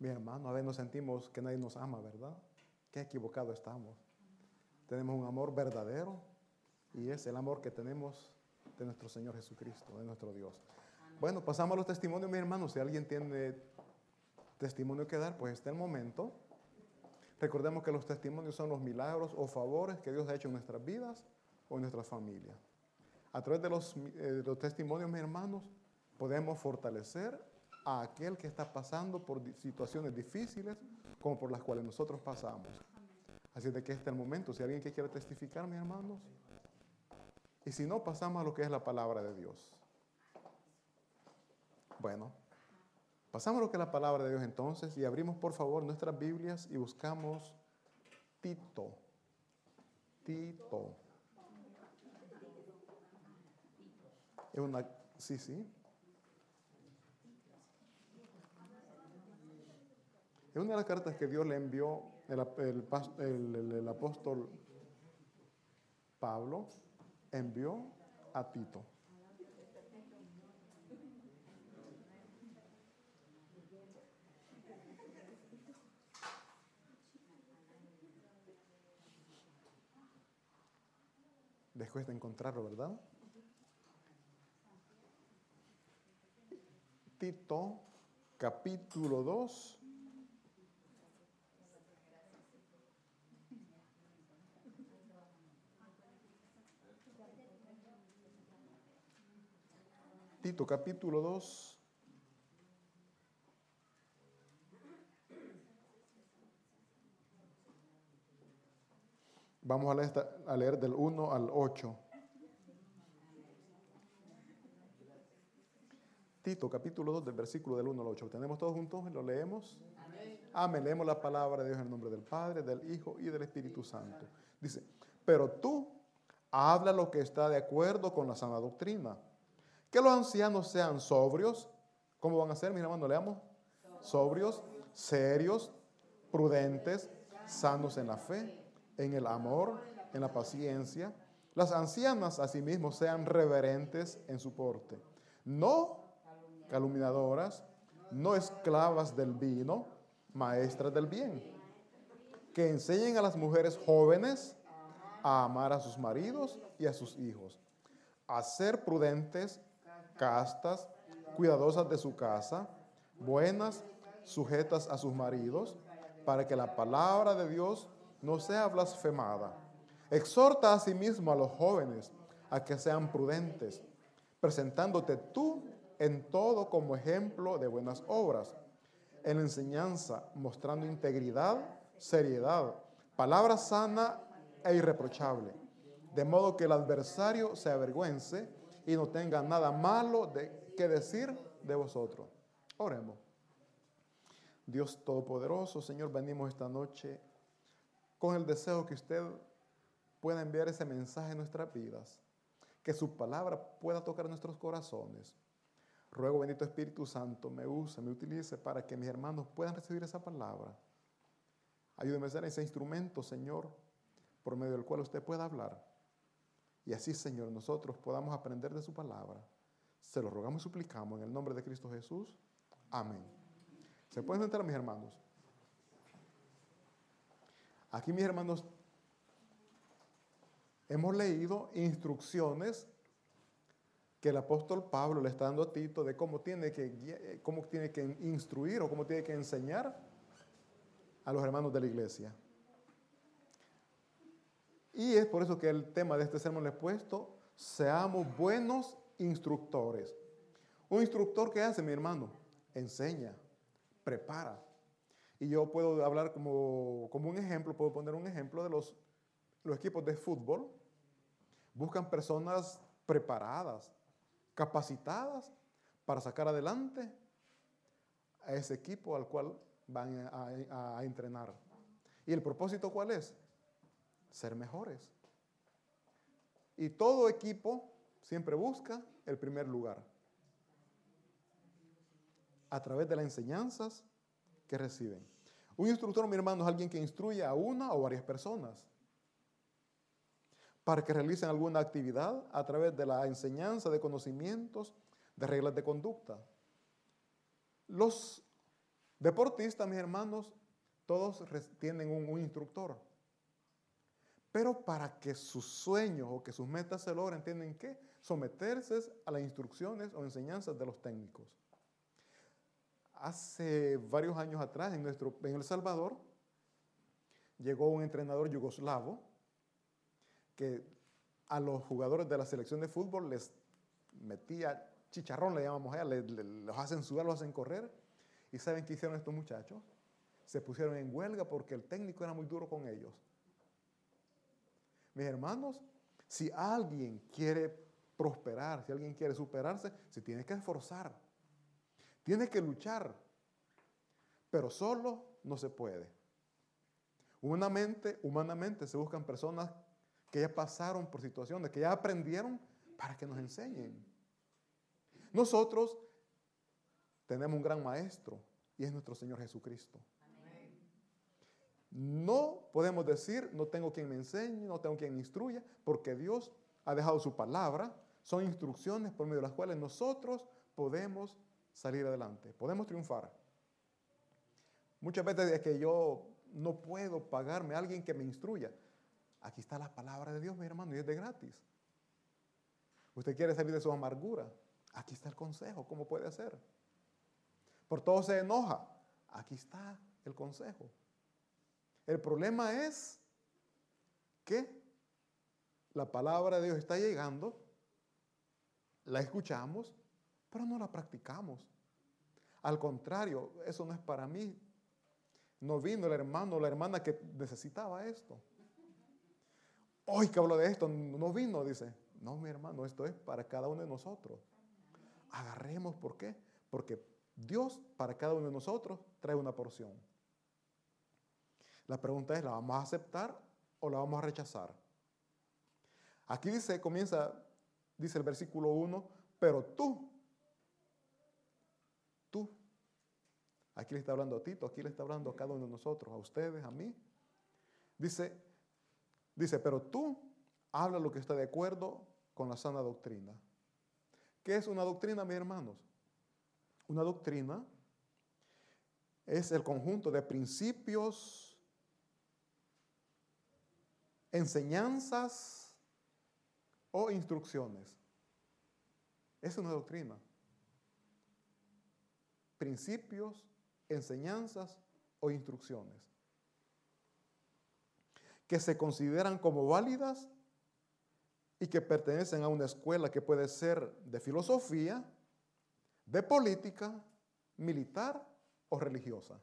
Mi hermano, a veces nos sentimos que nadie nos ama, ¿verdad? Qué equivocado estamos. Tenemos un amor verdadero y es el amor que tenemos de nuestro Señor Jesucristo, de nuestro Dios. Bueno, pasamos a los testimonios, mis hermanos. Si alguien tiene testimonio que dar, pues está el momento. Recordemos que los testimonios son los milagros o favores que Dios ha hecho en nuestras vidas o en nuestras familias. A través de los testimonios, mis hermanos, podemos fortalecer a aquel que está pasando por situaciones difíciles como por las cuales nosotros pasamos. Así de que este es el momento. Si alguien que quiere testificar, mis hermanos. Y si no, pasamos a lo que es la palabra de Dios. Bueno, pasamos a lo que es la palabra de Dios entonces y abrimos por favor nuestras Biblias y buscamos Tito. Tito. Sí. Es una de las cartas que Dios le envió el apóstol Pablo, envió a Tito. Después de encontrarlo, ¿verdad? Tito, capítulo 2. Tito, capítulo 2. Vamos a leer del 1 al 8. Tito, capítulo 2, del versículo del 1 al 8. ¿Tenemos todos juntos? ¿Lo leemos? Amén. Leemos la palabra de Dios en el nombre del Padre, del Hijo y del Espíritu Santo. Dice, pero tú habla lo que está de acuerdo con la sana doctrina. Que los ancianos sean sobrios. ¿Cómo van a ser, mis hermanos? Leamos. Sobrios, serios, prudentes, sanos en la fe, en el amor, en la paciencia. Las ancianas asimismo sean reverentes en su porte. No calumniadoras, no esclavas del vino, maestras del bien, que enseñen a las mujeres jóvenes a amar a sus maridos y a sus hijos, a ser prudentes, castas, cuidadosas de su casa, buenas, sujetas a sus maridos, para que la palabra de Dios no sea blasfemada. Exhorta asimismo a los jóvenes a que sean prudentes, presentándote tú en todo como ejemplo de buenas obras, en la enseñanza, mostrando integridad, seriedad, palabra sana e irreprochable, de modo que el adversario se avergüence y no tenga nada malo que decir de vosotros. Oremos. Dios Todopoderoso, Señor, venimos esta noche con el deseo que usted pueda enviar ese mensaje en nuestras vidas, que su palabra pueda tocar nuestros corazones. Ruego, bendito Espíritu Santo, me use, me utilice para que mis hermanos puedan recibir esa palabra. Ayúdeme a ser ese instrumento, Señor, por medio del cual usted pueda hablar. Y así, Señor, nosotros podamos aprender de su palabra. Se lo rogamos y suplicamos en el nombre de Cristo Jesús. Amén. ¿Se pueden sentar, mis hermanos? Aquí, mis hermanos, hemos leído instrucciones que el apóstol Pablo le está dando a Tito de cómo tiene que instruir o cómo tiene que enseñar a los hermanos de la iglesia. Y es por eso que el tema de este sermón le he puesto, seamos buenos instructores. Un instructor, ¿qué hace, mi hermano? Enseña, prepara. Y yo puedo hablar como un ejemplo, puedo poner un ejemplo de los equipos de fútbol. Buscan personas preparadas, capacitadas para sacar adelante a ese equipo al cual van a entrenar. ¿Y el propósito cuál es? Ser mejores. Y todo equipo siempre busca el primer lugar a través de las enseñanzas que reciben. Un instructor, mi hermano, es alguien que instruye a una o varias personas para que realicen alguna actividad a través de la enseñanza de conocimientos, de reglas de conducta. Los Deportistas, mis hermanos, todos tienen un instructor. Pero para que sus sueños o que sus metas se logren, tienen que someterse a las instrucciones o enseñanzas de los técnicos. Hace varios años atrás, en El Salvador, llegó un entrenador yugoslavo que a los jugadores de la selección de fútbol les metía chicharrón, le llamamos allá, los hacen sudar, los hacen correr. ¿Y saben qué hicieron estos muchachos? Se pusieron en huelga porque el técnico era muy duro con ellos. Mis hermanos, si alguien quiere prosperar, si alguien quiere superarse, se tiene que esforzar, tiene que luchar, pero solo no se puede. Humanamente se buscan personas que ya pasaron por situaciones, que ya aprendieron para que nos enseñen. Nosotros tenemos un gran maestro y es nuestro Señor Jesucristo. No podemos decir, no tengo quien me enseñe, no tengo quien me instruya, porque Dios ha dejado su palabra, son instrucciones por medio de las cuales nosotros podemos salir adelante, podemos triunfar. Muchas veces es que yo no puedo pagarme a alguien que me instruya. Aquí está la palabra de Dios, mi hermano, y es de gratis. Usted quiere salir de su amargura, aquí está el consejo, ¿cómo puede hacer? Por todo se enoja, aquí está el consejo. El problema es que la palabra de Dios está llegando, la escuchamos, pero no la practicamos. Al contrario, eso no es para mí. No vino el hermano o la hermana que necesitaba esto. Hoy que hablo de esto, no vino, dice. No, mi hermano, esto es para cada uno de nosotros. Agarremos, ¿por qué? Porque Dios para cada uno de nosotros trae una porción. La pregunta es, ¿la vamos a aceptar o la vamos a rechazar? Aquí dice el versículo 1, pero tú, aquí le está hablando a Tito, aquí le está hablando a cada uno de nosotros, a ustedes, a mí. Dice, pero tú habla lo que está de acuerdo con la sana doctrina. ¿Qué es una doctrina, mis hermanos? Una doctrina es el conjunto de principios, enseñanzas o instrucciones. Es una doctrina. Principios, enseñanzas o instrucciones que se consideran como válidas y que pertenecen a una escuela que puede ser de filosofía, de política, militar o religiosa.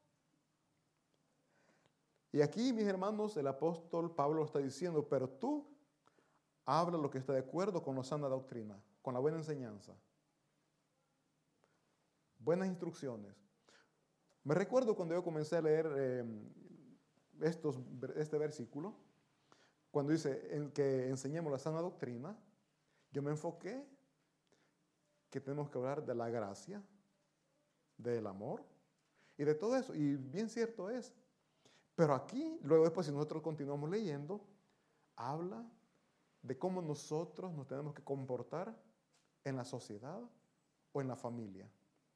Y aquí, mis hermanos, el apóstol Pablo está diciendo, pero tú habla lo que está de acuerdo con la sana doctrina, con la buena enseñanza, buenas instrucciones. Me recuerdo cuando yo comencé a leer este versículo, cuando dice que enseñemos la sana doctrina, yo me enfoqué que tenemos que hablar de la gracia, del amor y de todo eso. Y bien cierto es. Pero aquí, luego después, si nosotros continuamos leyendo, habla de cómo nosotros nos tenemos que comportar en la sociedad o en la familia.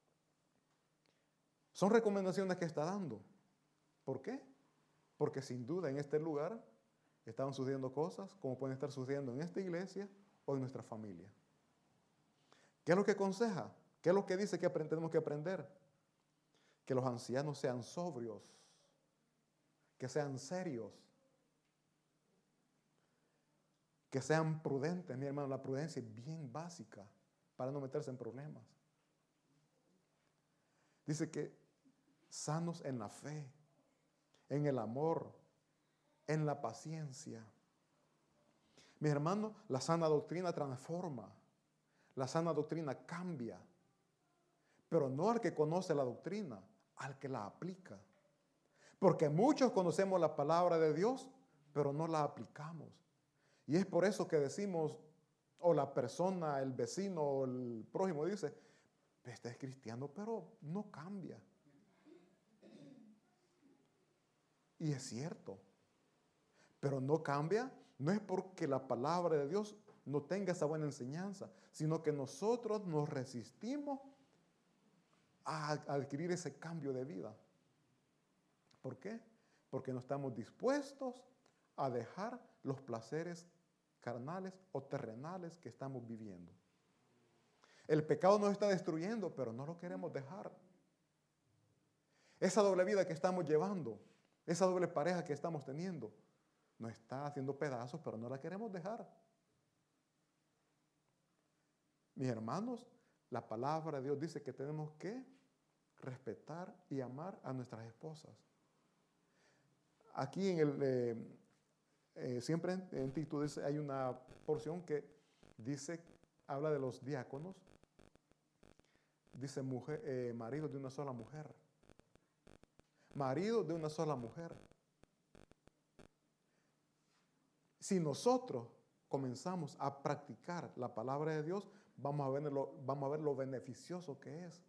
Son recomendaciones que está dando. ¿Por qué? Porque sin duda en este lugar estaban sucediendo cosas como pueden estar sucediendo en esta iglesia o en nuestra familia. ¿Qué es lo que aconseja? ¿Qué es lo que dice que tenemos que aprender? Que los ancianos sean sobrios, que sean serios, que sean prudentes. Mi hermano, la prudencia es bien básica para no meterse en problemas. Dice que sanos en la fe, en el amor, en la paciencia. Mis hermanos, la sana doctrina transforma, la sana doctrina cambia, pero no al que conoce la doctrina, al que la aplica. Porque muchos conocemos la palabra de Dios, pero no la aplicamos. Y es por eso que decimos, o la persona, el vecino, o el prójimo dice, este es cristiano, pero no cambia. Y es cierto. Pero no cambia, no es porque la palabra de Dios no tenga esa buena enseñanza, sino que nosotros nos resistimos a adquirir ese cambio de vida. ¿Por qué? Porque no estamos dispuestos a dejar los placeres carnales o terrenales que estamos viviendo. El pecado nos está destruyendo, pero no lo queremos dejar. Esa doble vida que estamos llevando, esa doble pareja que estamos teniendo, nos está haciendo pedazos, pero no la queremos dejar. Mis hermanos, la palabra de Dios dice que tenemos que respetar y amar a nuestras esposas. Aquí siempre en Tito hay una porción que dice, habla de los diáconos, dice marido de una sola mujer. Marido de una sola mujer. Si nosotros comenzamos a practicar la palabra de Dios, vamos a ver lo beneficioso que es.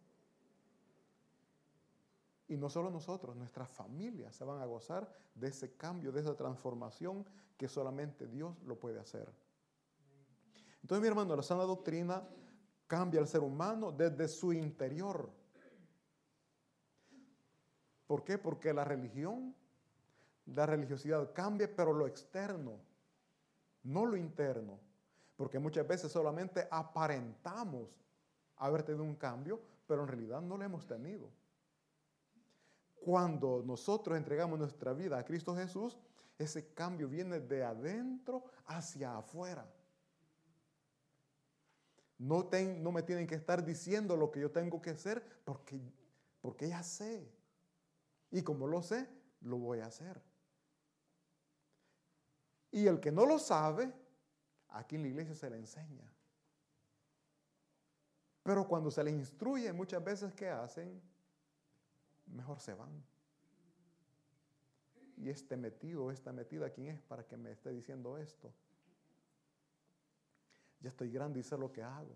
Y no solo nosotros, nuestras familias se van a gozar de ese cambio, de esa transformación que solamente Dios lo puede hacer. Entonces, mi hermano, la sana doctrina cambia al ser humano desde su interior. ¿Por qué? Porque la religiosidad cambia, pero lo externo, no lo interno. Porque muchas veces solamente aparentamos haber tenido un cambio, pero en realidad no lo hemos tenido. Cuando nosotros entregamos nuestra vida a Cristo Jesús, ese cambio viene de adentro hacia afuera. No me tienen que estar diciendo lo que yo tengo que hacer porque ya sé. Y como lo sé, lo voy a hacer. Y el que no lo sabe, aquí en la iglesia se le enseña. Pero cuando se le instruye, muchas veces, ¿qué hacen? Mejor se van. Y esta metida, ¿quién es para que me esté diciendo esto? Ya estoy grande y sé lo que hago.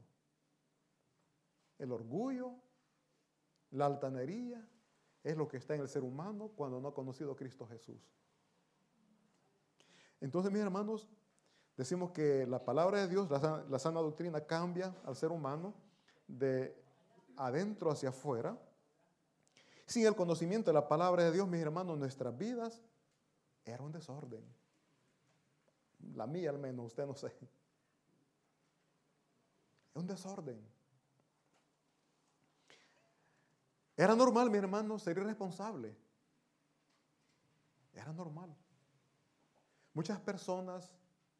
El orgullo, la altanería, es lo que está en el ser humano cuando no ha conocido a Cristo Jesús. Entonces, mis hermanos, decimos que la palabra de Dios, la sana doctrina, cambia al ser humano de adentro hacia afuera. Sin el conocimiento de la palabra de Dios, mis hermanos, nuestras vidas eran un desorden. La mía al menos, usted no sé. Es un desorden. Era normal, mis hermanos, ser irresponsable. Era normal. Muchas personas,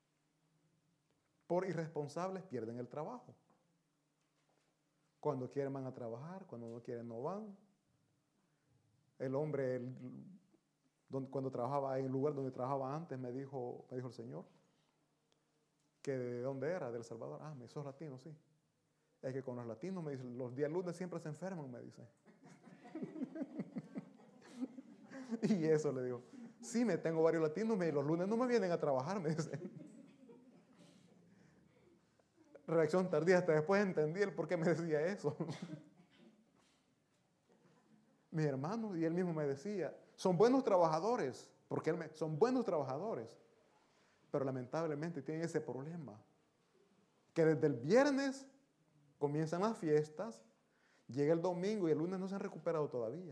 por irresponsables, pierden el trabajo. Cuando quieren van a trabajar, cuando no quieren no van. El hombre, cuando trabajaba en el lugar donde trabajaba antes, me dijo el Señor, que de dónde era, de El Salvador. Ah, sos latino, sí. Es que con los latinos, me dice, los días lunes siempre se enferman, me dice. Y eso le digo, sí, tengo varios latinos, los lunes no me vienen a trabajar, me dice. Reacción tardía, hasta después entendí el por qué me decía eso. Mis hermanos, y él mismo me decía, son buenos trabajadores, porque son buenos trabajadores, pero lamentablemente tienen ese problema, que desde el viernes comienzan las fiestas, llega el domingo y el lunes no se han recuperado todavía.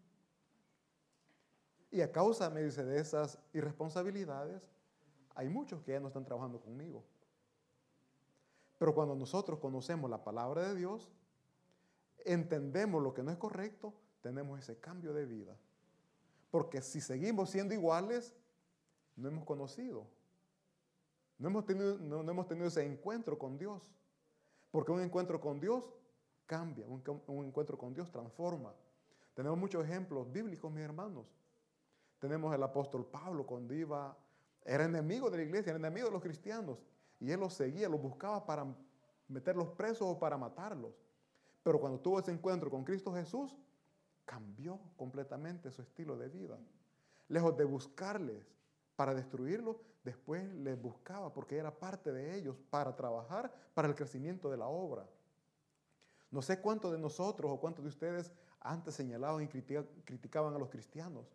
Y a causa, me dice, de esas irresponsabilidades, hay muchos que ya no están trabajando conmigo. Pero cuando nosotros conocemos la palabra de Dios, entendemos lo que no es correcto, tenemos ese cambio de vida. Porque si seguimos siendo iguales, no hemos conocido. No hemos tenido ese encuentro con Dios. Porque un encuentro con Dios cambia, un encuentro con Dios transforma. Tenemos muchos ejemplos bíblicos, mis hermanos. Tenemos el apóstol Pablo cuando era enemigo de la iglesia, era enemigo de los cristianos. Y él los seguía, los buscaba para meterlos presos o para matarlos. Pero cuando tuvo ese encuentro con Cristo Jesús, cambió completamente su estilo de vida. Lejos de buscarles para destruirlos, después les buscaba porque era parte de ellos para trabajar para el crecimiento de la obra. No sé cuántos de nosotros o cuántos de ustedes antes señalaban y criticaban a los cristianos.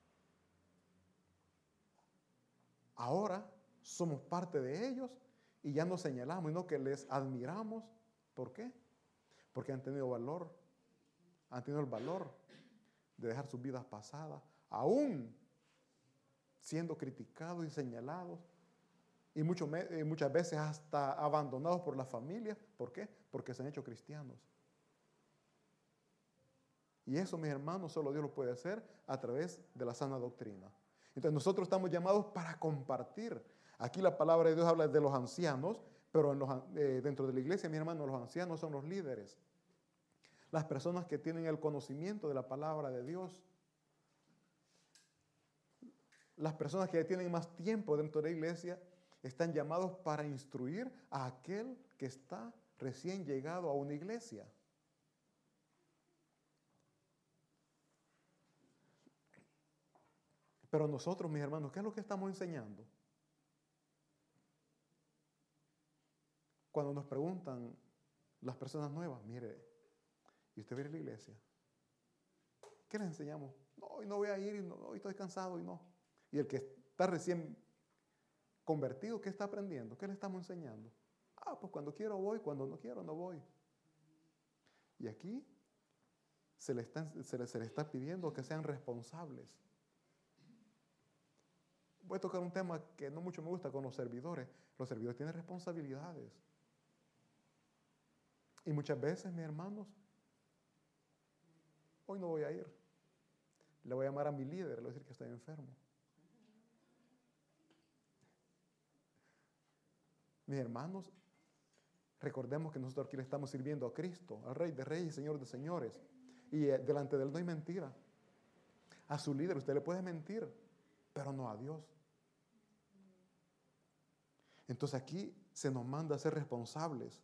Ahora somos parte de ellos y ya no señalamos, sino que les admiramos. ¿Por qué? Porque han tenido valor, han tenido el valor de dejar sus vidas pasadas, aún siendo criticados y señalados, y muchas veces hasta abandonados por la familia. ¿Por qué? Porque se han hecho cristianos. Y eso, mis hermanos, solo Dios lo puede hacer a través de la sana doctrina. Entonces nosotros estamos llamados para compartir. Aquí la palabra de Dios habla de los ancianos, pero dentro de la iglesia, mis hermanos, los ancianos son los líderes. Las personas que tienen el conocimiento de la palabra de Dios. Las personas que tienen más tiempo dentro de la iglesia están llamados para instruir a aquel que está recién llegado a una iglesia. Pero nosotros, mis hermanos, ¿qué es lo que estamos enseñando? Cuando nos preguntan las personas nuevas, mire, ¿y usted viene a la iglesia? ¿Qué les enseñamos? No, hoy no voy a ir, no, hoy estoy cansado y no. Y el que está recién convertido, ¿qué está aprendiendo? ¿Qué le estamos enseñando? Pues cuando quiero voy, cuando no quiero no voy. Y aquí se le está pidiendo que sean responsables. Voy a tocar un tema que no mucho me gusta con los servidores. Los servidores tienen responsabilidades. Y muchas veces, mis hermanos, hoy no voy a ir. Le voy a llamar a mi líder, le voy a decir que estoy enfermo. Mis hermanos, recordemos que nosotros aquí le estamos sirviendo a Cristo, al Rey de Reyes y Señor de Señores. Y delante de Él no hay mentira. A su líder usted le puede mentir, pero no a Dios. Entonces aquí se nos manda a ser responsables.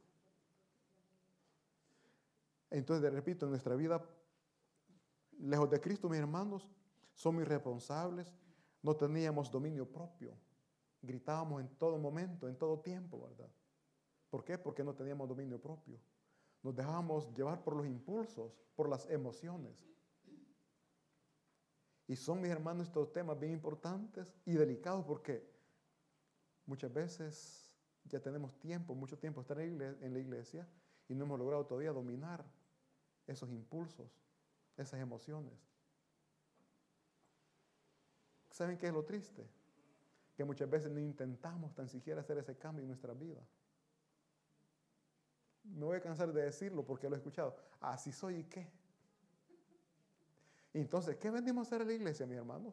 Entonces, repito, en nuestra vida, lejos de Cristo, mis hermanos, somos irresponsables, no teníamos dominio propio. Gritábamos en todo momento, en todo tiempo, ¿verdad? ¿Por qué? Porque no teníamos dominio propio. Nos dejábamos llevar por los impulsos, por las emociones. Y son, mis hermanos, estos temas bien importantes y delicados porque muchas veces ya tenemos mucho tiempo estar en la iglesia y no hemos logrado todavía dominar esos impulsos, esas emociones. ¿Saben qué es lo triste? Que muchas veces no intentamos tan siquiera hacer ese cambio en nuestra vida. Me voy a cansar de decirlo porque lo he escuchado. Así soy y qué. Y entonces, ¿qué venimos a hacer a la iglesia, mis hermanos?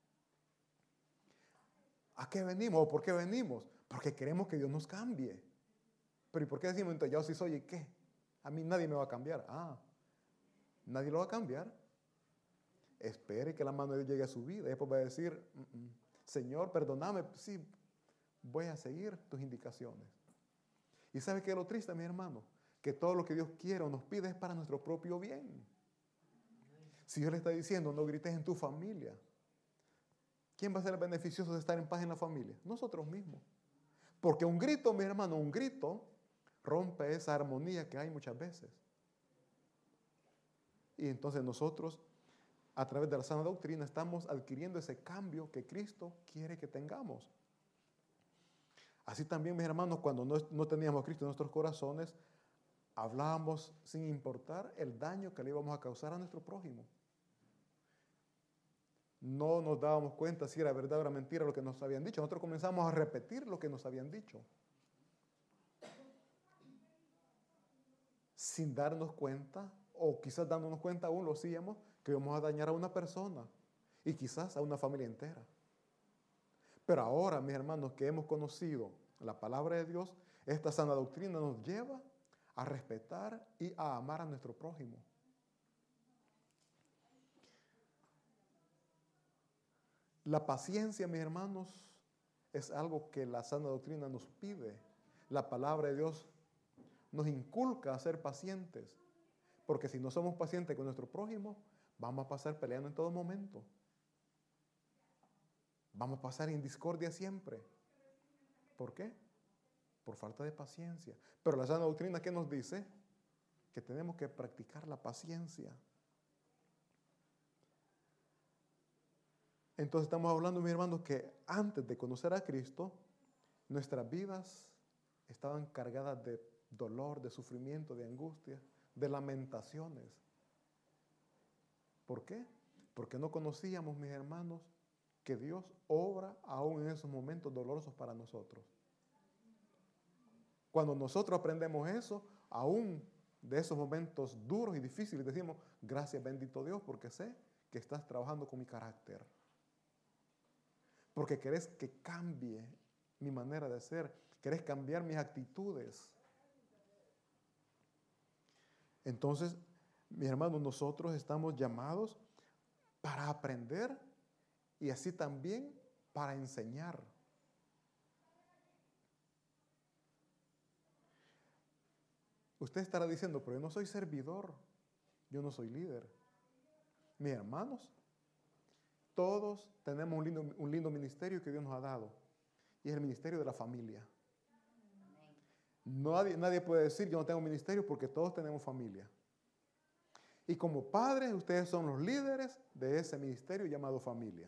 ¿A qué venimos o por qué venimos? Porque queremos que Dios nos cambie. Pero ¿y por qué decimos entonces, yo sí soy y qué? A mí nadie me va a cambiar. Nadie lo va a cambiar. Espere que la mano de Dios llegue a su vida. Y después va a decir, Señor, perdóname. Sí, voy a seguir tus indicaciones. ¿Y sabe qué es lo triste, mi hermano? Que todo lo que Dios quiere o nos pide es para nuestro propio bien. Si Dios le está diciendo, no grites en tu familia, ¿quién va a ser el beneficioso de estar en paz en la familia? Nosotros mismos. Porque un grito, mi hermano, un grito rompe esa armonía que hay muchas veces. Y entonces nosotros, a través de la sana doctrina, estamos adquiriendo ese cambio que Cristo quiere que tengamos. Así también, mis hermanos, cuando no teníamos a Cristo en nuestros corazones, hablábamos sin importar el daño que le íbamos a causar a nuestro prójimo. No nos dábamos cuenta si era verdad o era mentira lo que nos habían dicho. Nosotros comenzamos a repetir lo que nos habían dicho. Sin darnos cuenta, o quizás dándonos cuenta aún lo hacíamos, que íbamos a dañar a una persona y quizás a una familia entera. Pero ahora, mis hermanos, que hemos conocido la palabra de Dios, esta sana doctrina nos lleva a respetar y a amar a nuestro prójimo. La paciencia, mis hermanos, es algo que la sana doctrina nos pide. La palabra de Dios nos inculca a ser pacientes, porque si no somos pacientes con nuestro prójimo, vamos a pasar peleando en todo momento. Vamos a pasar en discordia siempre. ¿Por qué? Por falta de paciencia. Pero la sana doctrina, ¿qué nos dice? Que tenemos que practicar la paciencia. Entonces estamos hablando, mis hermanos, que antes de conocer a Cristo, nuestras vidas estaban cargadas de dolor, de sufrimiento, de angustia, de lamentaciones. ¿Por qué? Porque no conocíamos, mis hermanos, que Dios obra aún en esos momentos dolorosos para nosotros. Cuando nosotros aprendemos eso, aún de esos momentos duros y difíciles, decimos, gracias bendito Dios, porque sé que estás trabajando con mi carácter. Porque querés que cambie mi manera de ser, querés cambiar mis actitudes. Entonces, mis hermanos, nosotros estamos llamados para aprender y así también para enseñar. Usted estará diciendo, pero yo no soy servidor, yo no soy líder. Mis hermanos, todos tenemos un lindo ministerio que Dios nos ha dado, y es el ministerio de la familia. Nadie puede decir, yo no tengo ministerio, porque todos tenemos familia. Y como padres, ustedes son los líderes de ese ministerio llamado familia.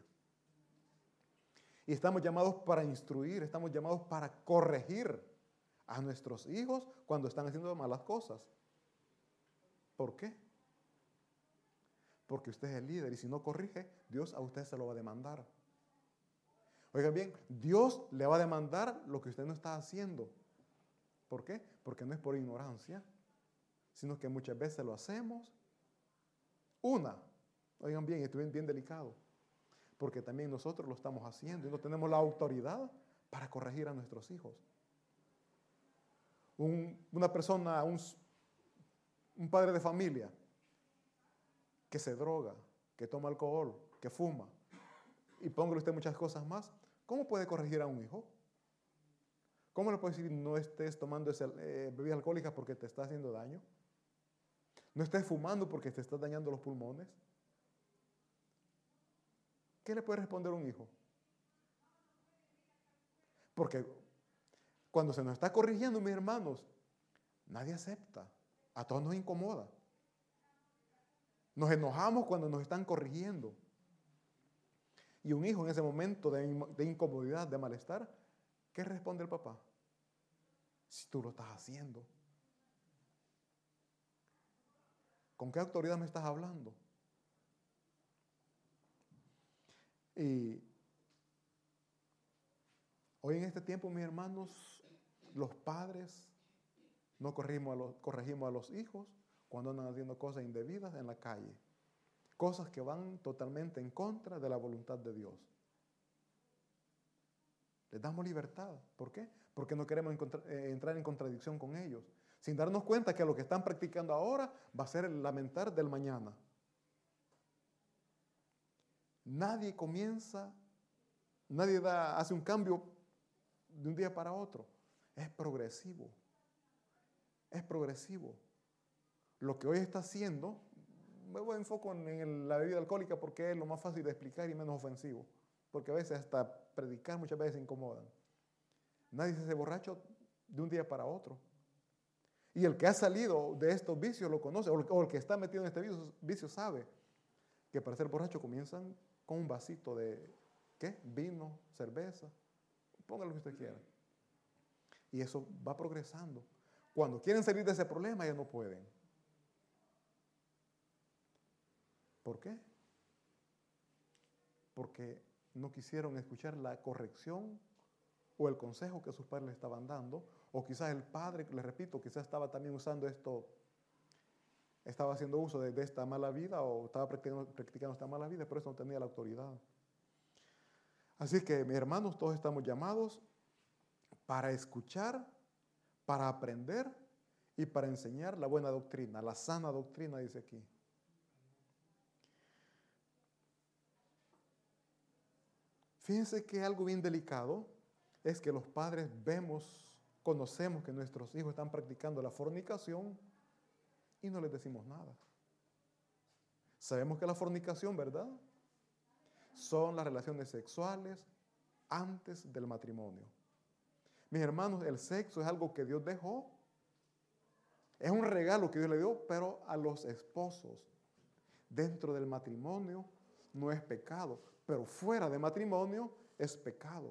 Y estamos llamados para instruir, estamos llamados para corregir a nuestros hijos cuando están haciendo malas cosas. ¿Por qué? Porque usted es el líder y si no corrige, Dios a usted se lo va a demandar. Oigan bien, Dios le va a demandar lo que usted no está haciendo. ¿Por qué? Porque no es por ignorancia, sino que muchas veces lo hacemos. Oigan bien, esto es bien delicado, porque también nosotros lo estamos haciendo y no tenemos la autoridad para corregir a nuestros hijos. Una persona, un padre de familia que se droga, que toma alcohol, que fuma, y póngale usted muchas cosas más, ¿cómo puede corregir a un hijo? ¿Cómo le puede decir no estés tomando bebidas alcohólicas porque te está haciendo daño? No estés fumando porque te estás dañando los pulmones. ¿Qué le puede responder a un hijo? Porque cuando se nos está corrigiendo, mis hermanos, nadie acepta. A todos nos incomoda. Nos enojamos cuando nos están corrigiendo. Y un hijo en ese momento de incomodidad, de malestar, ¿qué responde el papá? Si tú lo estás haciendo. ¿Con qué autoridad me estás hablando? Y hoy en este tiempo, mis hermanos, los padres no corregimos a los hijos cuando andan haciendo cosas indebidas en la calle. Cosas que van totalmente en contra de la voluntad de Dios. Les damos libertad. ¿Por qué? Porque no queremos entrar en contradicción con ellos. Sin darnos cuenta que lo que están practicando ahora va a ser el lamentar del mañana. Nadie hace un cambio de un día para otro. Es progresivo. Es progresivo. Lo que hoy está haciendo, me voy a enfocar en la bebida alcohólica porque es lo más fácil de explicar y menos ofensivo. Porque a veces hasta predicar muchas veces incomodan. Nadie se hace borracho de un día para otro. Y el que ha salido de estos vicios lo conoce, o el que está metido en este vicio sabe que para ser borracho comienzan con un vasito de, ¿qué? Vino, cerveza, póngalo lo que usted quiera. Y eso va progresando. Cuando quieren salir de ese problema ya no pueden. ¿Por qué? Porque no quisieron escuchar la corrección o el consejo que sus padres le estaban dando, o quizás el padre, les repito, quizás estaba también usando estaba haciendo uso de esta mala vida o estaba practicando esta mala vida, pero eso no tenía la autoridad. Así que, mis hermanos, todos estamos llamados para escuchar, para aprender y para enseñar la buena doctrina, la sana doctrina, dice aquí. Fíjense que algo bien delicado es que los padres conocemos que nuestros hijos están practicando la fornicación y no les decimos nada. Sabemos que la fornicación, ¿verdad? Son las relaciones sexuales antes del matrimonio. Mis hermanos, el sexo es algo que Dios dejó. Es un regalo que Dios le dio, pero a los esposos. Dentro del matrimonio no es pecado, pero fuera de matrimonio es pecado.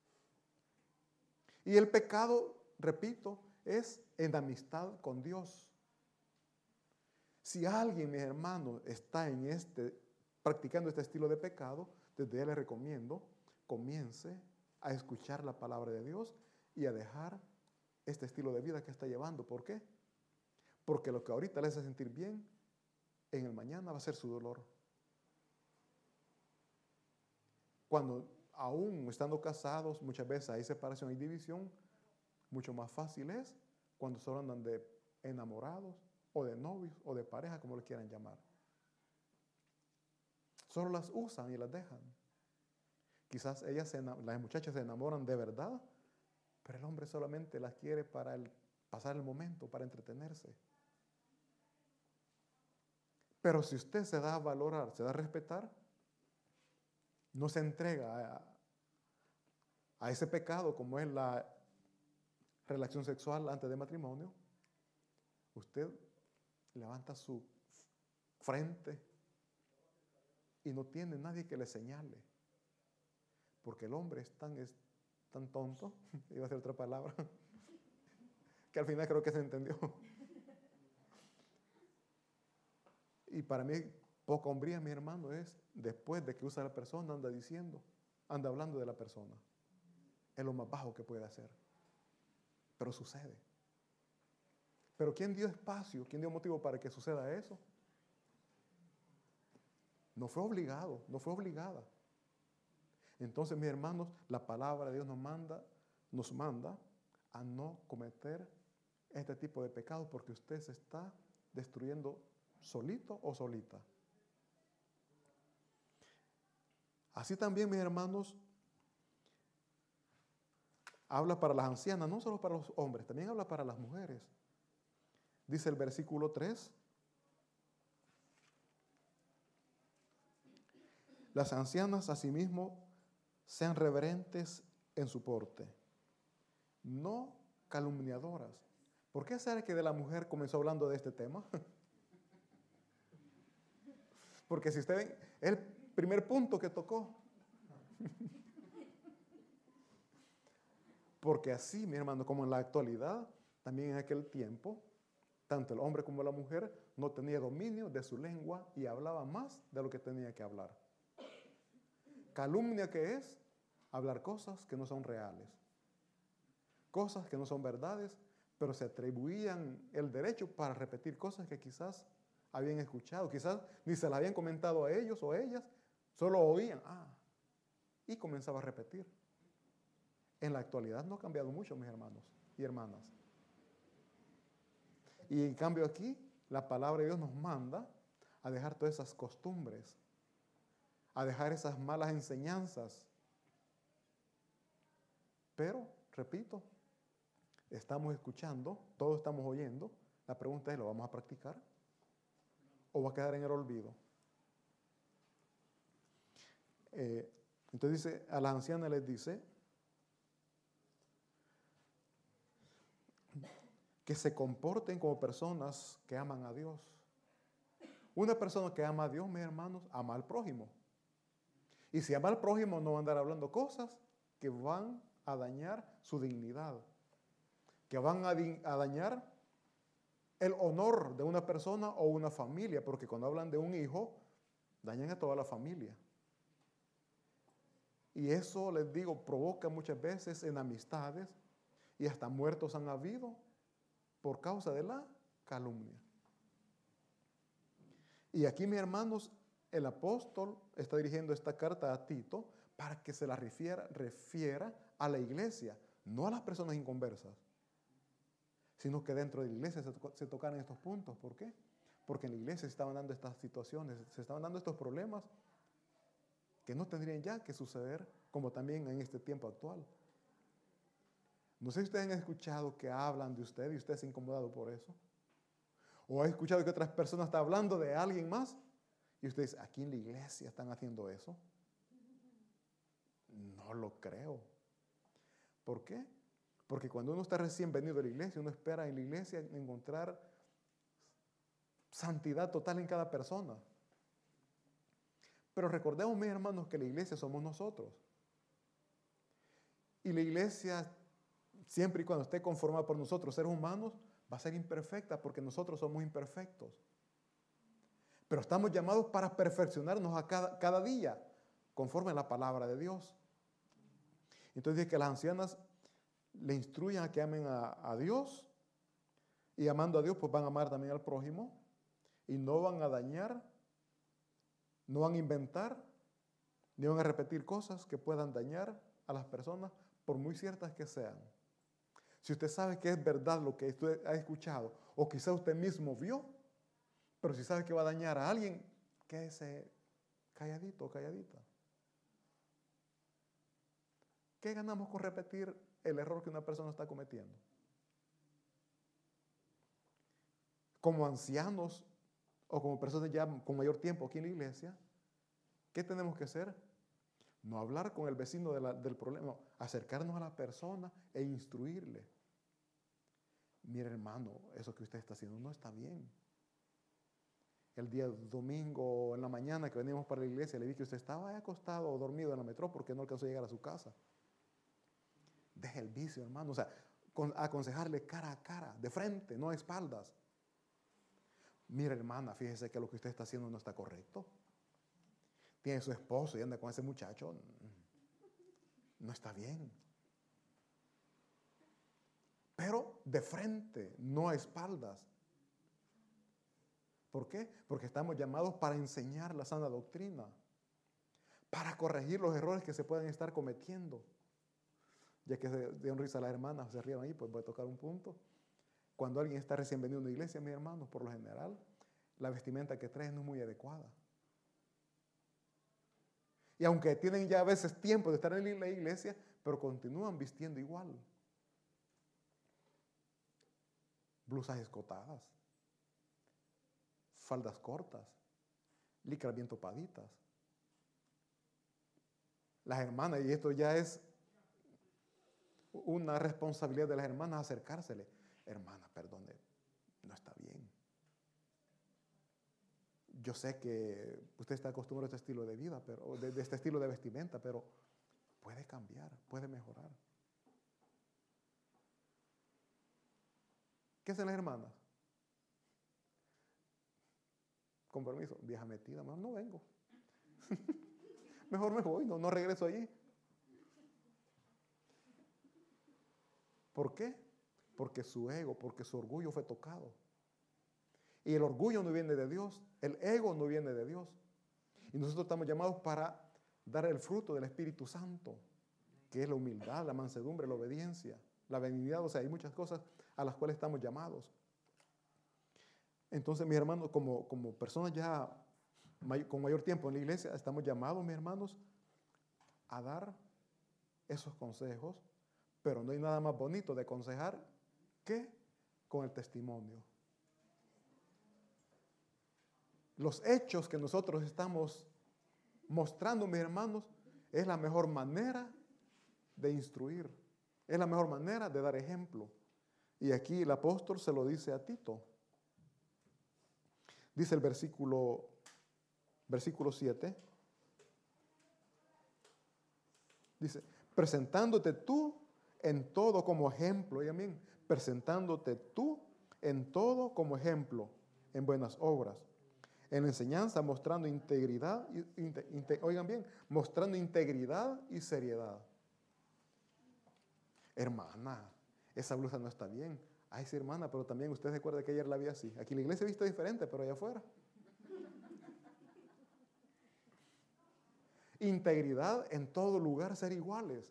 Y el pecado, repito, es en amistad con Dios. Si alguien, mis hermanos, está practicando este estilo de pecado, desde ya le recomiendo, comience a escuchar la palabra de Dios y a dejar este estilo de vida que está llevando. ¿Por qué? Porque lo que ahorita le hace sentir bien, en el mañana va a ser su dolor. Cuando aún estando casados, muchas veces hay separación y división, mucho más fácil es cuando solo andan de enamorados o de novios o de pareja, como le quieran llamar. Solo las usan y las dejan. Quizás las muchachas se enamoran de verdad, pero el hombre solamente las quiere para pasar el momento, para entretenerse. Pero si usted se da a valorar, se da a respetar, no se entrega a ese pecado como es la relación sexual antes de matrimonio, usted levanta su frente y no tiene nadie que le señale. Porque el hombre es tan tonto, iba a ser otra palabra, que al final creo que se entendió. Y para mí, poca hombría, mi hermano, es después de que usa la persona, anda hablando de la persona. Es lo más bajo que puede hacer. Pero sucede. Pero ¿quién dio espacio? ¿Quién dio motivo para que suceda eso? No fue obligado, no fue obligada. Entonces, mis hermanos, la palabra de Dios nos manda a no cometer este tipo de pecados porque usted se está destruyendo solito o solita. Así también, mis hermanos, habla para las ancianas, no solo para los hombres, también habla para las mujeres. Dice el versículo 3. Las ancianas asimismo sean reverentes en su porte, no calumniadoras. ¿Por qué será que de la mujer comenzó hablando de este tema? Porque si usted ven, es el primer punto que tocó. Porque así, mi hermano, como en la actualidad, también en aquel tiempo, tanto el hombre como la mujer no tenía dominio de su lengua y hablaba más de lo que tenía que hablar. Calumnia, ¿qué es? Hablar cosas que no son reales, cosas que no son verdades, pero se atribuían el derecho para repetir cosas que quizás habían escuchado, quizás ni se las habían comentado a ellos o ellas, solo oían, y comenzaba a repetir. En la actualidad no ha cambiado mucho, mis hermanos y hermanas. Y en cambio aquí, la palabra de Dios nos manda a dejar todas esas costumbres, a dejar esas malas enseñanzas. Pero, repito, estamos escuchando, todos estamos oyendo. La pregunta es, ¿lo vamos a practicar? ¿O va a quedar en el olvido? Entonces dice, a las ancianas les dice que se comporten como personas que aman a Dios. Una persona que ama a Dios, mis hermanos, ama al prójimo. Y si ama al prójimo, no va a andar hablando cosas que van a dañar su dignidad, que van a dañar el honor de una persona o una familia, porque cuando hablan de un hijo, dañan a toda la familia. Y eso, les digo, provoca muchas veces enemistades y hasta muertos han habido por causa de la calumnia. Y aquí, mis hermanos, el apóstol está dirigiendo esta carta a Tito para que se la refiera a la iglesia, no a las personas inconversas, sino que dentro de la iglesia se tocaran estos puntos. ¿Por qué? Porque en la iglesia se estaban dando estas situaciones, se estaban dando estos problemas que no tendrían ya que suceder, como también en este tiempo actual. No sé si ustedes han escuchado que hablan de usted y usted se ha incomodado por eso. O ha escuchado que otras personas están hablando de alguien más y usted dice, aquí en la iglesia están haciendo eso. No lo creo. ¿Por qué? Porque cuando uno está recién venido a la iglesia, uno espera en la iglesia encontrar santidad total en cada persona. Pero recordemos, mis hermanos, que la iglesia somos nosotros. Y la iglesia, siempre y cuando esté conformada por nosotros, seres humanos, va a ser imperfecta porque nosotros somos imperfectos. Pero estamos llamados para perfeccionarnos a cada día, conforme a la palabra de Dios. Entonces dice que las ancianas le instruyan a que amen a Dios, y amando a Dios, pues van a amar también al prójimo, y no van a dañar, no van a inventar, ni van a repetir cosas que puedan dañar a las personas, por muy ciertas que sean. Si usted sabe que es verdad lo que usted ha escuchado, o quizá usted mismo vio, pero si sabe que va a dañar a alguien, quédese calladito o calladita. ¿Qué ganamos con repetir el error que una persona está cometiendo? Como ancianos o como personas ya con mayor tiempo aquí en la iglesia, ¿qué tenemos que hacer? No hablar con el vecino del problema, no, acercarnos a la persona e instruirle. Mire, hermano, eso que usted está haciendo no está bien. El día domingo en la mañana que venimos para la iglesia, le vi que usted estaba acostado o dormido en la metro porque no alcanzó a llegar a su casa. Deje el vicio, hermano. O sea, aconsejarle cara a cara, de frente, no a espaldas. Mire, hermana, fíjese que lo que usted está haciendo no está correcto. Tiene su esposo y anda con ese muchacho. No está bien. Pero de frente, no a espaldas. ¿Por qué? Porque estamos llamados para enseñar la sana doctrina, para corregir los errores que se pueden estar cometiendo. Ya que se dieron risa a las hermanas, se rieron ahí, pues voy a tocar un punto. Cuando alguien está recién venido a una iglesia, mis hermanos, por lo general, la vestimenta que trae no es muy adecuada. Y aunque tienen ya a veces tiempo de estar en la iglesia, pero continúan vistiendo igual. Blusas escotadas, faldas cortas, licras bien topaditas. Las hermanas, y esto ya es una responsabilidad de las hermanas, acercársele. Hermana, perdone, no está bien. Yo sé que usted está acostumbrado a este estilo de vida, pero de este estilo de vestimenta, pero puede cambiar, puede mejorar. ¿Qué hacen las hermanas? Con permiso, vieja metida, mejor no vengo. Mejor me voy, no regreso allí. ¿Por qué? Porque su ego, porque su orgullo fue tocado. Y el orgullo no viene de Dios, el ego no viene de Dios. Y nosotros estamos llamados para dar el fruto del Espíritu Santo, que es la humildad, la mansedumbre, la obediencia, la benignidad. O sea, hay muchas cosas a las cuales estamos llamados. Entonces, mis hermanos, como personas ya con mayor tiempo en la iglesia, estamos llamados, mis hermanos, a dar esos consejos, pero no hay nada más bonito de aconsejar que con el testimonio. Los hechos que nosotros estamos mostrando, mis hermanos, es la mejor manera de instruir, es la mejor manera de dar ejemplo. Y aquí el apóstol se lo dice a Tito. Dice el versículo 7. Dice, presentándote tú en todo como ejemplo, oigan bien, presentándote tú en todo como ejemplo, en buenas obras, en enseñanza, mostrando integridad, oigan bien, mostrando integridad y seriedad. Hermana, esa blusa no está bien. Ay, sí, hermana, pero también usted recuerda que ayer la vi así. Aquí en la iglesia he visto diferente, pero allá afuera. Integridad en todo lugar, ser iguales.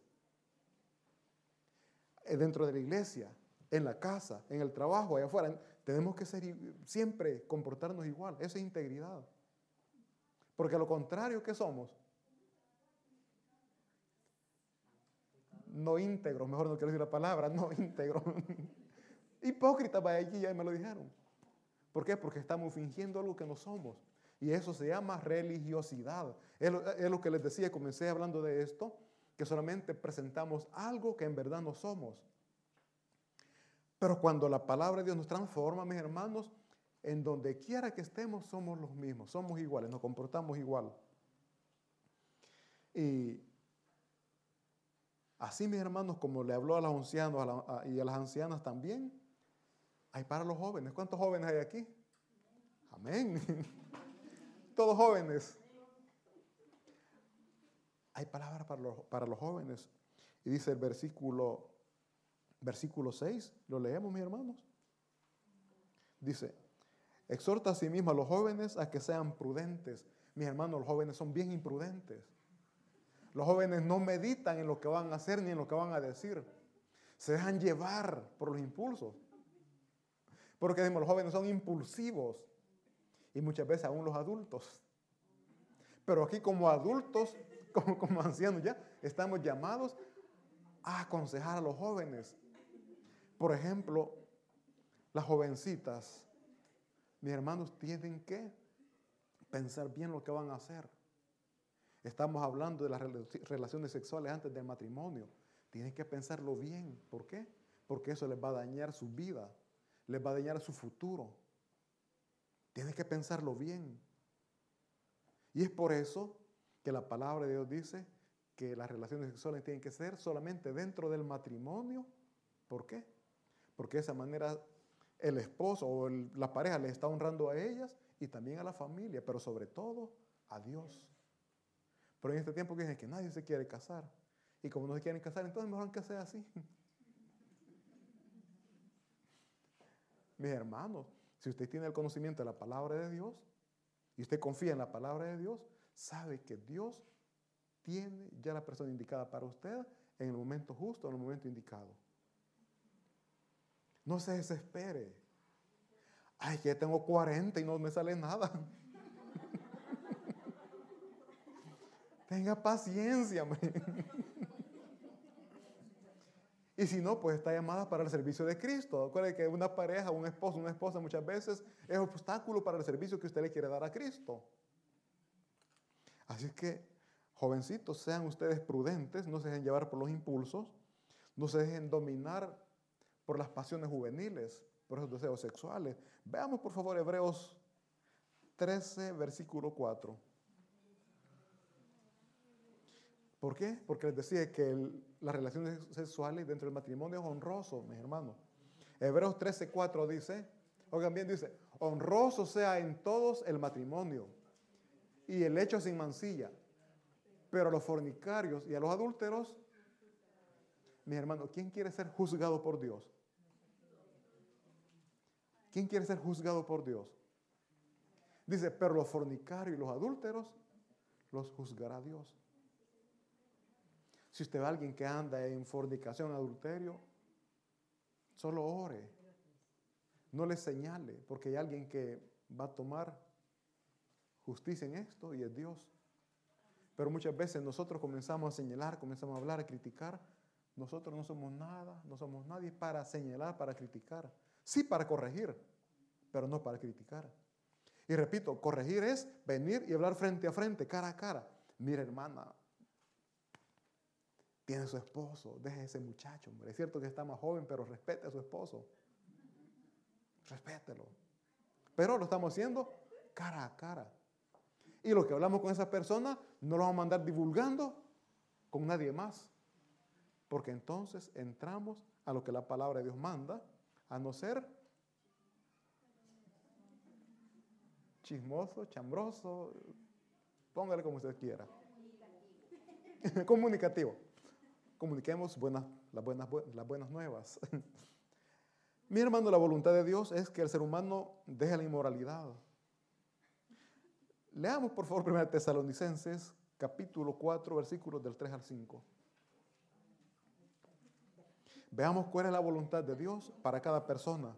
Dentro de la iglesia, en la casa, en el trabajo, allá afuera, tenemos que siempre comportarnos igual. Eso es integridad. Porque a lo contrario, ¿qué somos? No íntegros, mejor no quiero decir la palabra, no íntegros. Hipócritas, vaya, allí ya me lo dijeron. ¿Por qué? Porque estamos fingiendo algo que no somos. Y eso se llama religiosidad. Es lo que les decía, comencé hablando de esto, que solamente presentamos algo que en verdad no somos. Pero cuando la palabra de Dios nos transforma, mis hermanos, en donde quiera que estemos, somos los mismos, somos iguales, nos comportamos igual. Y así, mis hermanos, como le habló a los ancianos y a las ancianas también, hay para los jóvenes. ¿Cuántos jóvenes hay aquí? Amén. todos jóvenes. Hay palabras para los jóvenes. Y dice el versículo 6, lo leemos, mis hermanos. Dice, exhorta a sí mismo a los jóvenes a que sean prudentes. Mis hermanos, los jóvenes son bien imprudentes. Los jóvenes no meditan en lo que van a hacer ni en lo que van a decir. Se dejan llevar por los impulsos. Porque decimos, los jóvenes son impulsivos. Y muchas veces aún los adultos. Pero aquí como adultos, como ancianos ya, estamos llamados a aconsejar a los jóvenes. Por ejemplo, las jovencitas, mis hermanos, tienen que pensar bien lo que van a hacer. Estamos hablando de las relaciones sexuales antes del matrimonio. Tienen que pensarlo bien. ¿Por qué? Porque eso les va a dañar su vida, les va a dañar su futuro. Tienen que pensarlo bien. Y es por eso que la palabra de Dios dice que las relaciones sexuales tienen que ser solamente dentro del matrimonio. ¿Por qué? Porque de esa manera el esposo o la pareja les está honrando a ellas y también a la familia, pero sobre todo a Dios. Pero en este tiempo dicen que nadie se quiere casar. Y como no se quieren casar, entonces mejor que sea así. Mis hermanos, si usted tiene el conocimiento de la palabra de Dios y usted confía en la palabra de Dios, sabe que Dios tiene ya la persona indicada para usted en el momento justo, en el momento indicado. No se desespere. Ay, que tengo 40 y no me sale nada. Tenga paciencia, hombre. Y si no, pues está llamada para el servicio de Cristo. Acuérdense que una pareja, un esposo, una esposa muchas veces es obstáculo para el servicio que usted le quiere dar a Cristo. Así que, jovencitos, sean ustedes prudentes, no se dejen llevar por los impulsos, no se dejen dominar por las pasiones juveniles, por esos deseos sexuales. Veamos, por favor, Hebreos 13, versículo 4. ¿Por qué? Porque les decía que las relaciones sexuales dentro del matrimonio es honroso, mis hermanos. Hebreos 13, 4 dice, oigan bien, dice, honroso sea en todos el matrimonio y el hecho sin mancilla, pero a los fornicarios y a los adúlteros, mis hermanos, ¿quién quiere ser juzgado por Dios? ¿Quién quiere ser juzgado por Dios? Dice, pero los fornicarios y los adúlteros los juzgará Dios. Si usted ve a alguien que anda en fornicación, adulterio, solo ore. No le señale, porque hay alguien que va a tomar justicia en esto y es Dios. Pero muchas veces nosotros comenzamos a señalar, comenzamos a hablar, a criticar. Nosotros no somos nada, no somos nadie para señalar, para criticar. Sí para corregir, pero no para criticar. Y repito, corregir es venir y hablar frente a frente, cara a cara. Mira, hermana, tiene su esposo, deje a ese muchacho, hombre. Es cierto que está más joven, pero respete a su esposo. Respételo. Pero lo estamos haciendo cara a cara. Y lo que hablamos con esa persona no lo vamos a mandar divulgando con nadie más. Porque entonces entramos a lo que la palabra de Dios manda, a no ser chismoso, chambroso, póngale como usted quiera. Comunicativo. Comuniquemos las buenas nuevas. Mi hermano, la voluntad de Dios es que el ser humano deje la inmoralidad. Leamos por favor 1 Tesalonicenses, capítulo 4, versículos del 3 al 5. Veamos cuál es la voluntad de Dios para cada persona.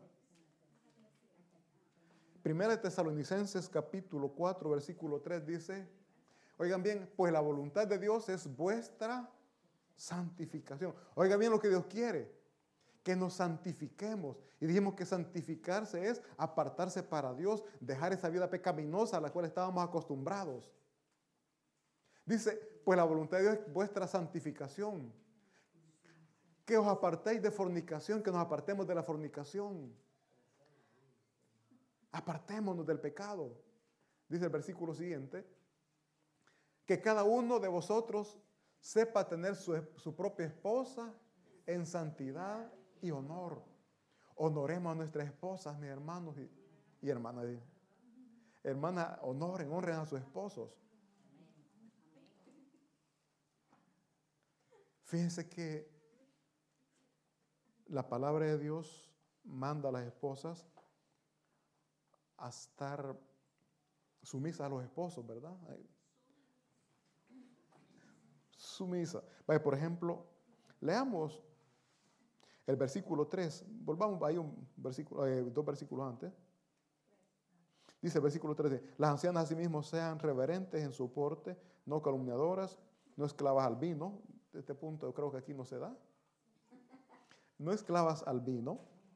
1 Tesalonicenses, capítulo 4, versículo 3 dice, oigan bien, pues la voluntad de Dios es vuestra santificación. Oigan bien lo que Dios quiere, que nos santifiquemos. Y dijimos que santificarse es apartarse para Dios, dejar esa vida pecaminosa a la cual estábamos acostumbrados. Dice, pues la voluntad de Dios es vuestra santificación. Que os apartéis de fornicación, que nos apartemos de la fornicación. Apartémonos del pecado. Dice el versículo siguiente, que cada uno de vosotros sepa tener su propia esposa en santidad y honor. Honoremos a nuestras esposas, mis hermanos y hermanas. Hermanas, honren a sus esposos. Fíjense que la palabra de Dios manda a las esposas a estar sumisas a los esposos, ¿verdad? Sumisa. Vaya, por ejemplo, leamos el versículo 3. Volvamos ahí un versículo, 2 versículos antes. Dice el versículo 13, las ancianas asimismo sean reverentes en su porte, no calumniadoras, no esclavas al vino. Este punto yo creo que aquí no se da. No esclavas al vino,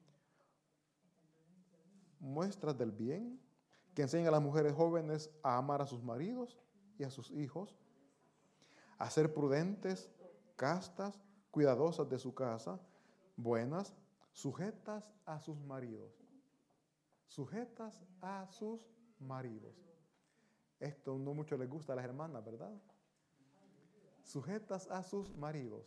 muestras del bien, que enseñen a las mujeres jóvenes a amar a sus maridos y a sus hijos, a ser prudentes, castas, cuidadosas de su casa, buenas, sujetas a sus maridos. Sujetas a sus maridos. Esto no mucho les gusta a las hermanas, ¿verdad? Sujetas a sus maridos.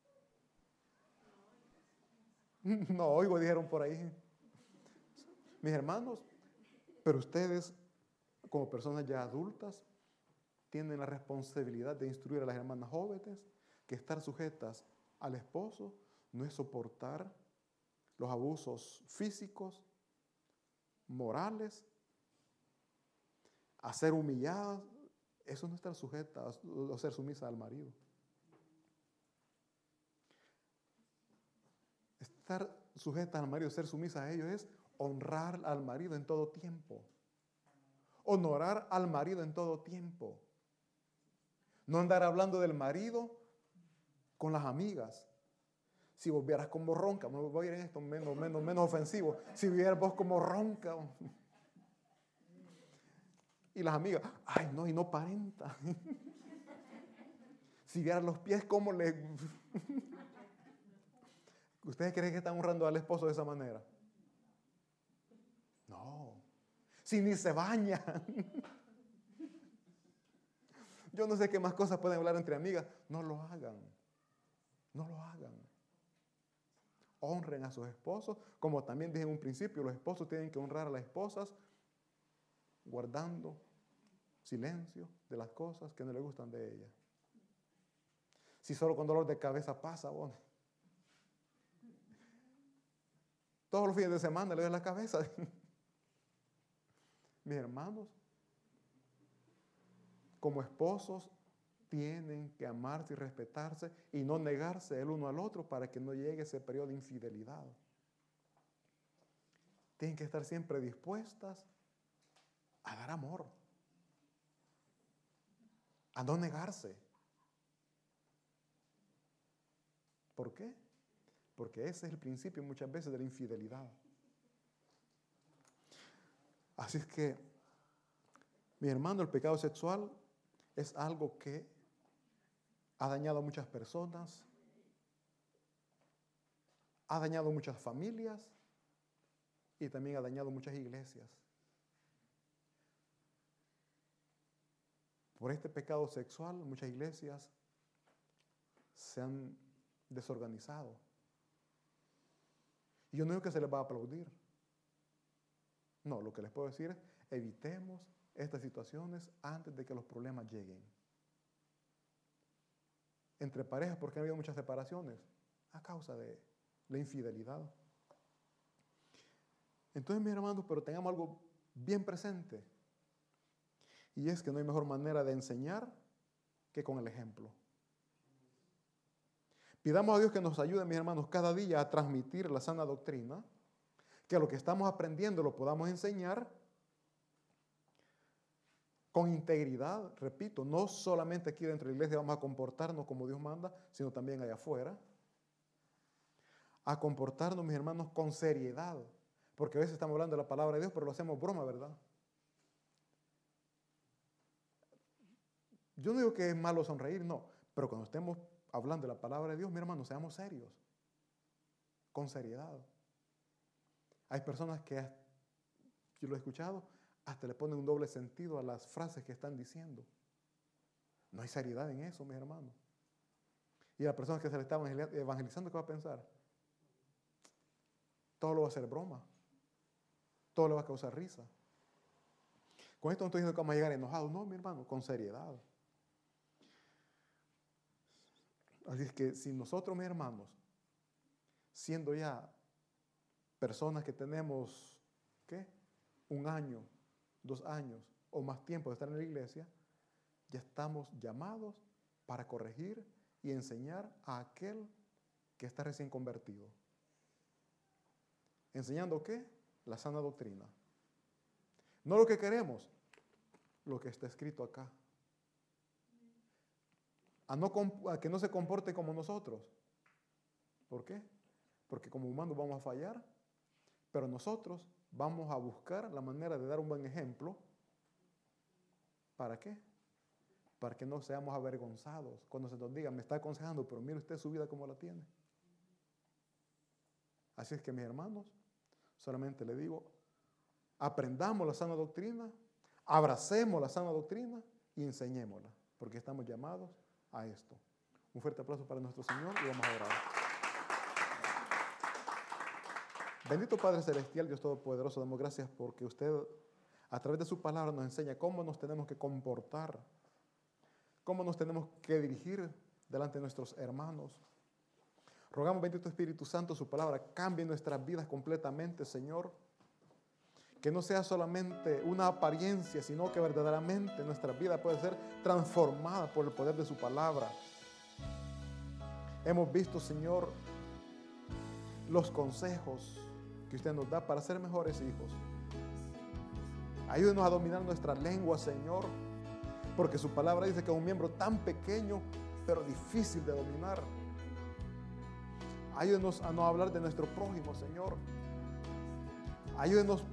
No oigo, dijeron por ahí. Mis hermanos, pero ustedes, como personas ya adultas, tienen la responsabilidad de instruir a las hermanas jóvenes que estar sujetas al esposo no es soportar los abusos físicos, morales, a ser humilladas. Eso no es estar sujeta o ser sumisa al marido. Estar sujeta al marido, ser sumisa a ellos es honrar al marido en todo tiempo. Honorar al marido en todo tiempo. No andar hablando del marido con las amigas. Si vos vieras como ronca, me voy a ir en esto menos ofensivo. Si vieras vos como ronca. Y las amigas, ay no, y no aparenta. Si vieran los pies como le... ¿Ustedes creen que están honrando al esposo de esa manera? No. Si ni se baña. Yo no sé qué más cosas pueden hablar entre amigas. No lo hagan. No lo hagan. Honren a sus esposos. Como también dije en un principio, los esposos tienen que honrar a las esposas guardando silencio de las cosas que no les gustan de ellas. Si solo con dolor de cabeza pasa, bueno, todos los fines de semana le doy la cabeza. Mis hermanos, como esposos, tienen que amarse y respetarse y no negarse el uno al otro para que no llegue ese periodo de infidelidad. Tienen que estar siempre dispuestas a dar amor, a no negarse. ¿Por qué? Porque ese es el principio muchas veces de la infidelidad. Así es que, mi hermano, el pecado sexual es algo que ha dañado a muchas personas, ha dañado muchas familias y también ha dañado muchas iglesias. Por este pecado sexual, muchas iglesias se han desorganizado. Y yo no digo que se les va a aplaudir. No, lo que les puedo decir es, evitemos estas situaciones antes de que los problemas lleguen. Entre parejas, porque ha habido muchas separaciones a causa de la infidelidad. Entonces, mis hermanos, pero tengamos algo bien presente. Y es que no hay mejor manera de enseñar que con el ejemplo. Pidamos a Dios que nos ayude, mis hermanos, cada día a transmitir la sana doctrina, que lo que estamos aprendiendo lo podamos enseñar con integridad, repito, no solamente aquí dentro de la iglesia vamos a comportarnos como Dios manda, sino también allá afuera. A comportarnos, mis hermanos, con seriedad, porque a veces estamos hablando de la palabra de Dios, pero lo hacemos broma, ¿verdad? Yo no digo que es malo sonreír, no, pero cuando estemos hablando de la palabra de Dios, mi hermano, seamos serios, con seriedad. Hay personas que, yo lo he escuchado, hasta le ponen un doble sentido a las frases que están diciendo. No hay seriedad en eso, mis hermanos. Y la persona que se le está evangelizando, ¿qué va a pensar? Todo lo va a hacer broma, todo le va a causar risa. Con esto no estoy diciendo que vamos a llegar enojados, no, mi hermano, con seriedad. Así es que si nosotros, mis hermanos, siendo ya personas que tenemos, ¿qué? 1 año, 2 años o más tiempo de estar en la iglesia, ya estamos llamados para corregir y enseñar a aquel que está recién convertido. ¿Enseñando qué? La sana doctrina. No lo que queremos, lo que está escrito acá. A que no se comporte como nosotros. ¿Por qué? Porque como humanos vamos a fallar, pero nosotros vamos a buscar la manera de dar un buen ejemplo. ¿Para qué? Para que no seamos avergonzados. Cuando se nos diga, me está aconsejando, pero mire usted su vida como la tiene. Así es que, mis hermanos, solamente le digo, aprendamos la sana doctrina, abracemos la sana doctrina y enseñémosla, porque estamos llamados a esto. Un fuerte aplauso para nuestro Señor y vamos a orar. Bendito Padre Celestial, Dios Todopoderoso, damos gracias porque usted a través de su palabra nos enseña cómo nos tenemos que comportar, cómo nos tenemos que dirigir delante de nuestros hermanos. Rogamos, bendito Espíritu Santo, su palabra cambie nuestras vidas completamente, Señor. Que no sea solamente una apariencia, sino que verdaderamente nuestra vida puede ser transformada por el poder de su palabra. Hemos visto, Señor, los consejos que usted nos da para ser mejores hijos. Ayúdenos a dominar nuestra lengua, Señor, porque su palabra dice que es un miembro tan pequeño, pero difícil de dominar. Ayúdenos a no hablar de nuestro prójimo, Señor. Ayúdenos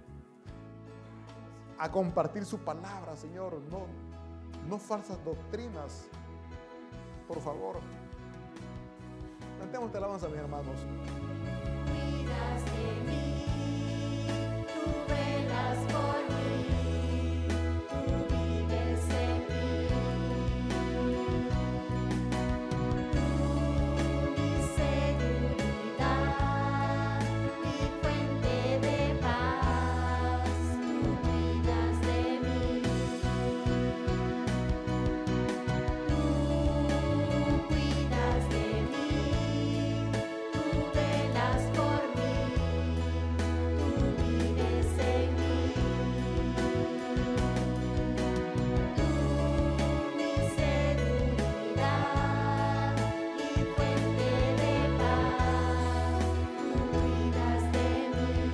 a compartir su palabra, Señor. No falsas doctrinas. Por favor. Cantemos esta alabanza, mis hermanos. Cuidas de mí, tú velas por mí, tú vives en mí. Tú mi seguridad, mi fuente de paz, tú cuidas de mí. Tú cuidas de mí, tú velas por mí, tú vives en mí. Tú mi seguridad, mi fuente de paz, tú cuidas de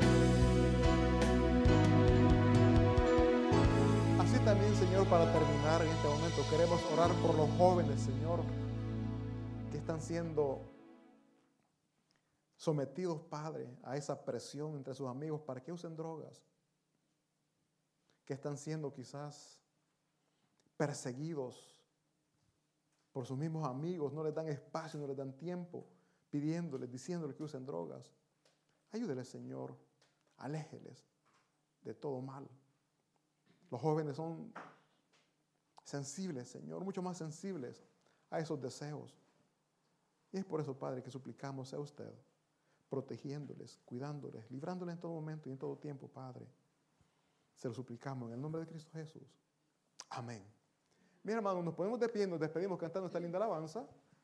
mí. Así también, Señor, para terminar en este momento, queremos orar por los jóvenes, Señor, que están siendo sometidos, Padre, a esa presión entre sus amigos para que usen drogas, que están siendo quizás perseguidos por sus mismos amigos, no les dan espacio, no les dan tiempo, pidiéndoles, diciéndoles que usen drogas. Ayúdeles, Señor, aléjeles de todo mal. Los jóvenes son sensibles, Señor, mucho más sensibles a esos deseos. Y es por eso, Padre, que suplicamos a usted, protegiéndoles, cuidándoles, librándoles en todo momento y en todo tiempo, Padre. Se lo suplicamos en el nombre de Cristo Jesús. Amén. Mis hermanos, nos ponemos de pie y nos despedimos cantando esta linda alabanza.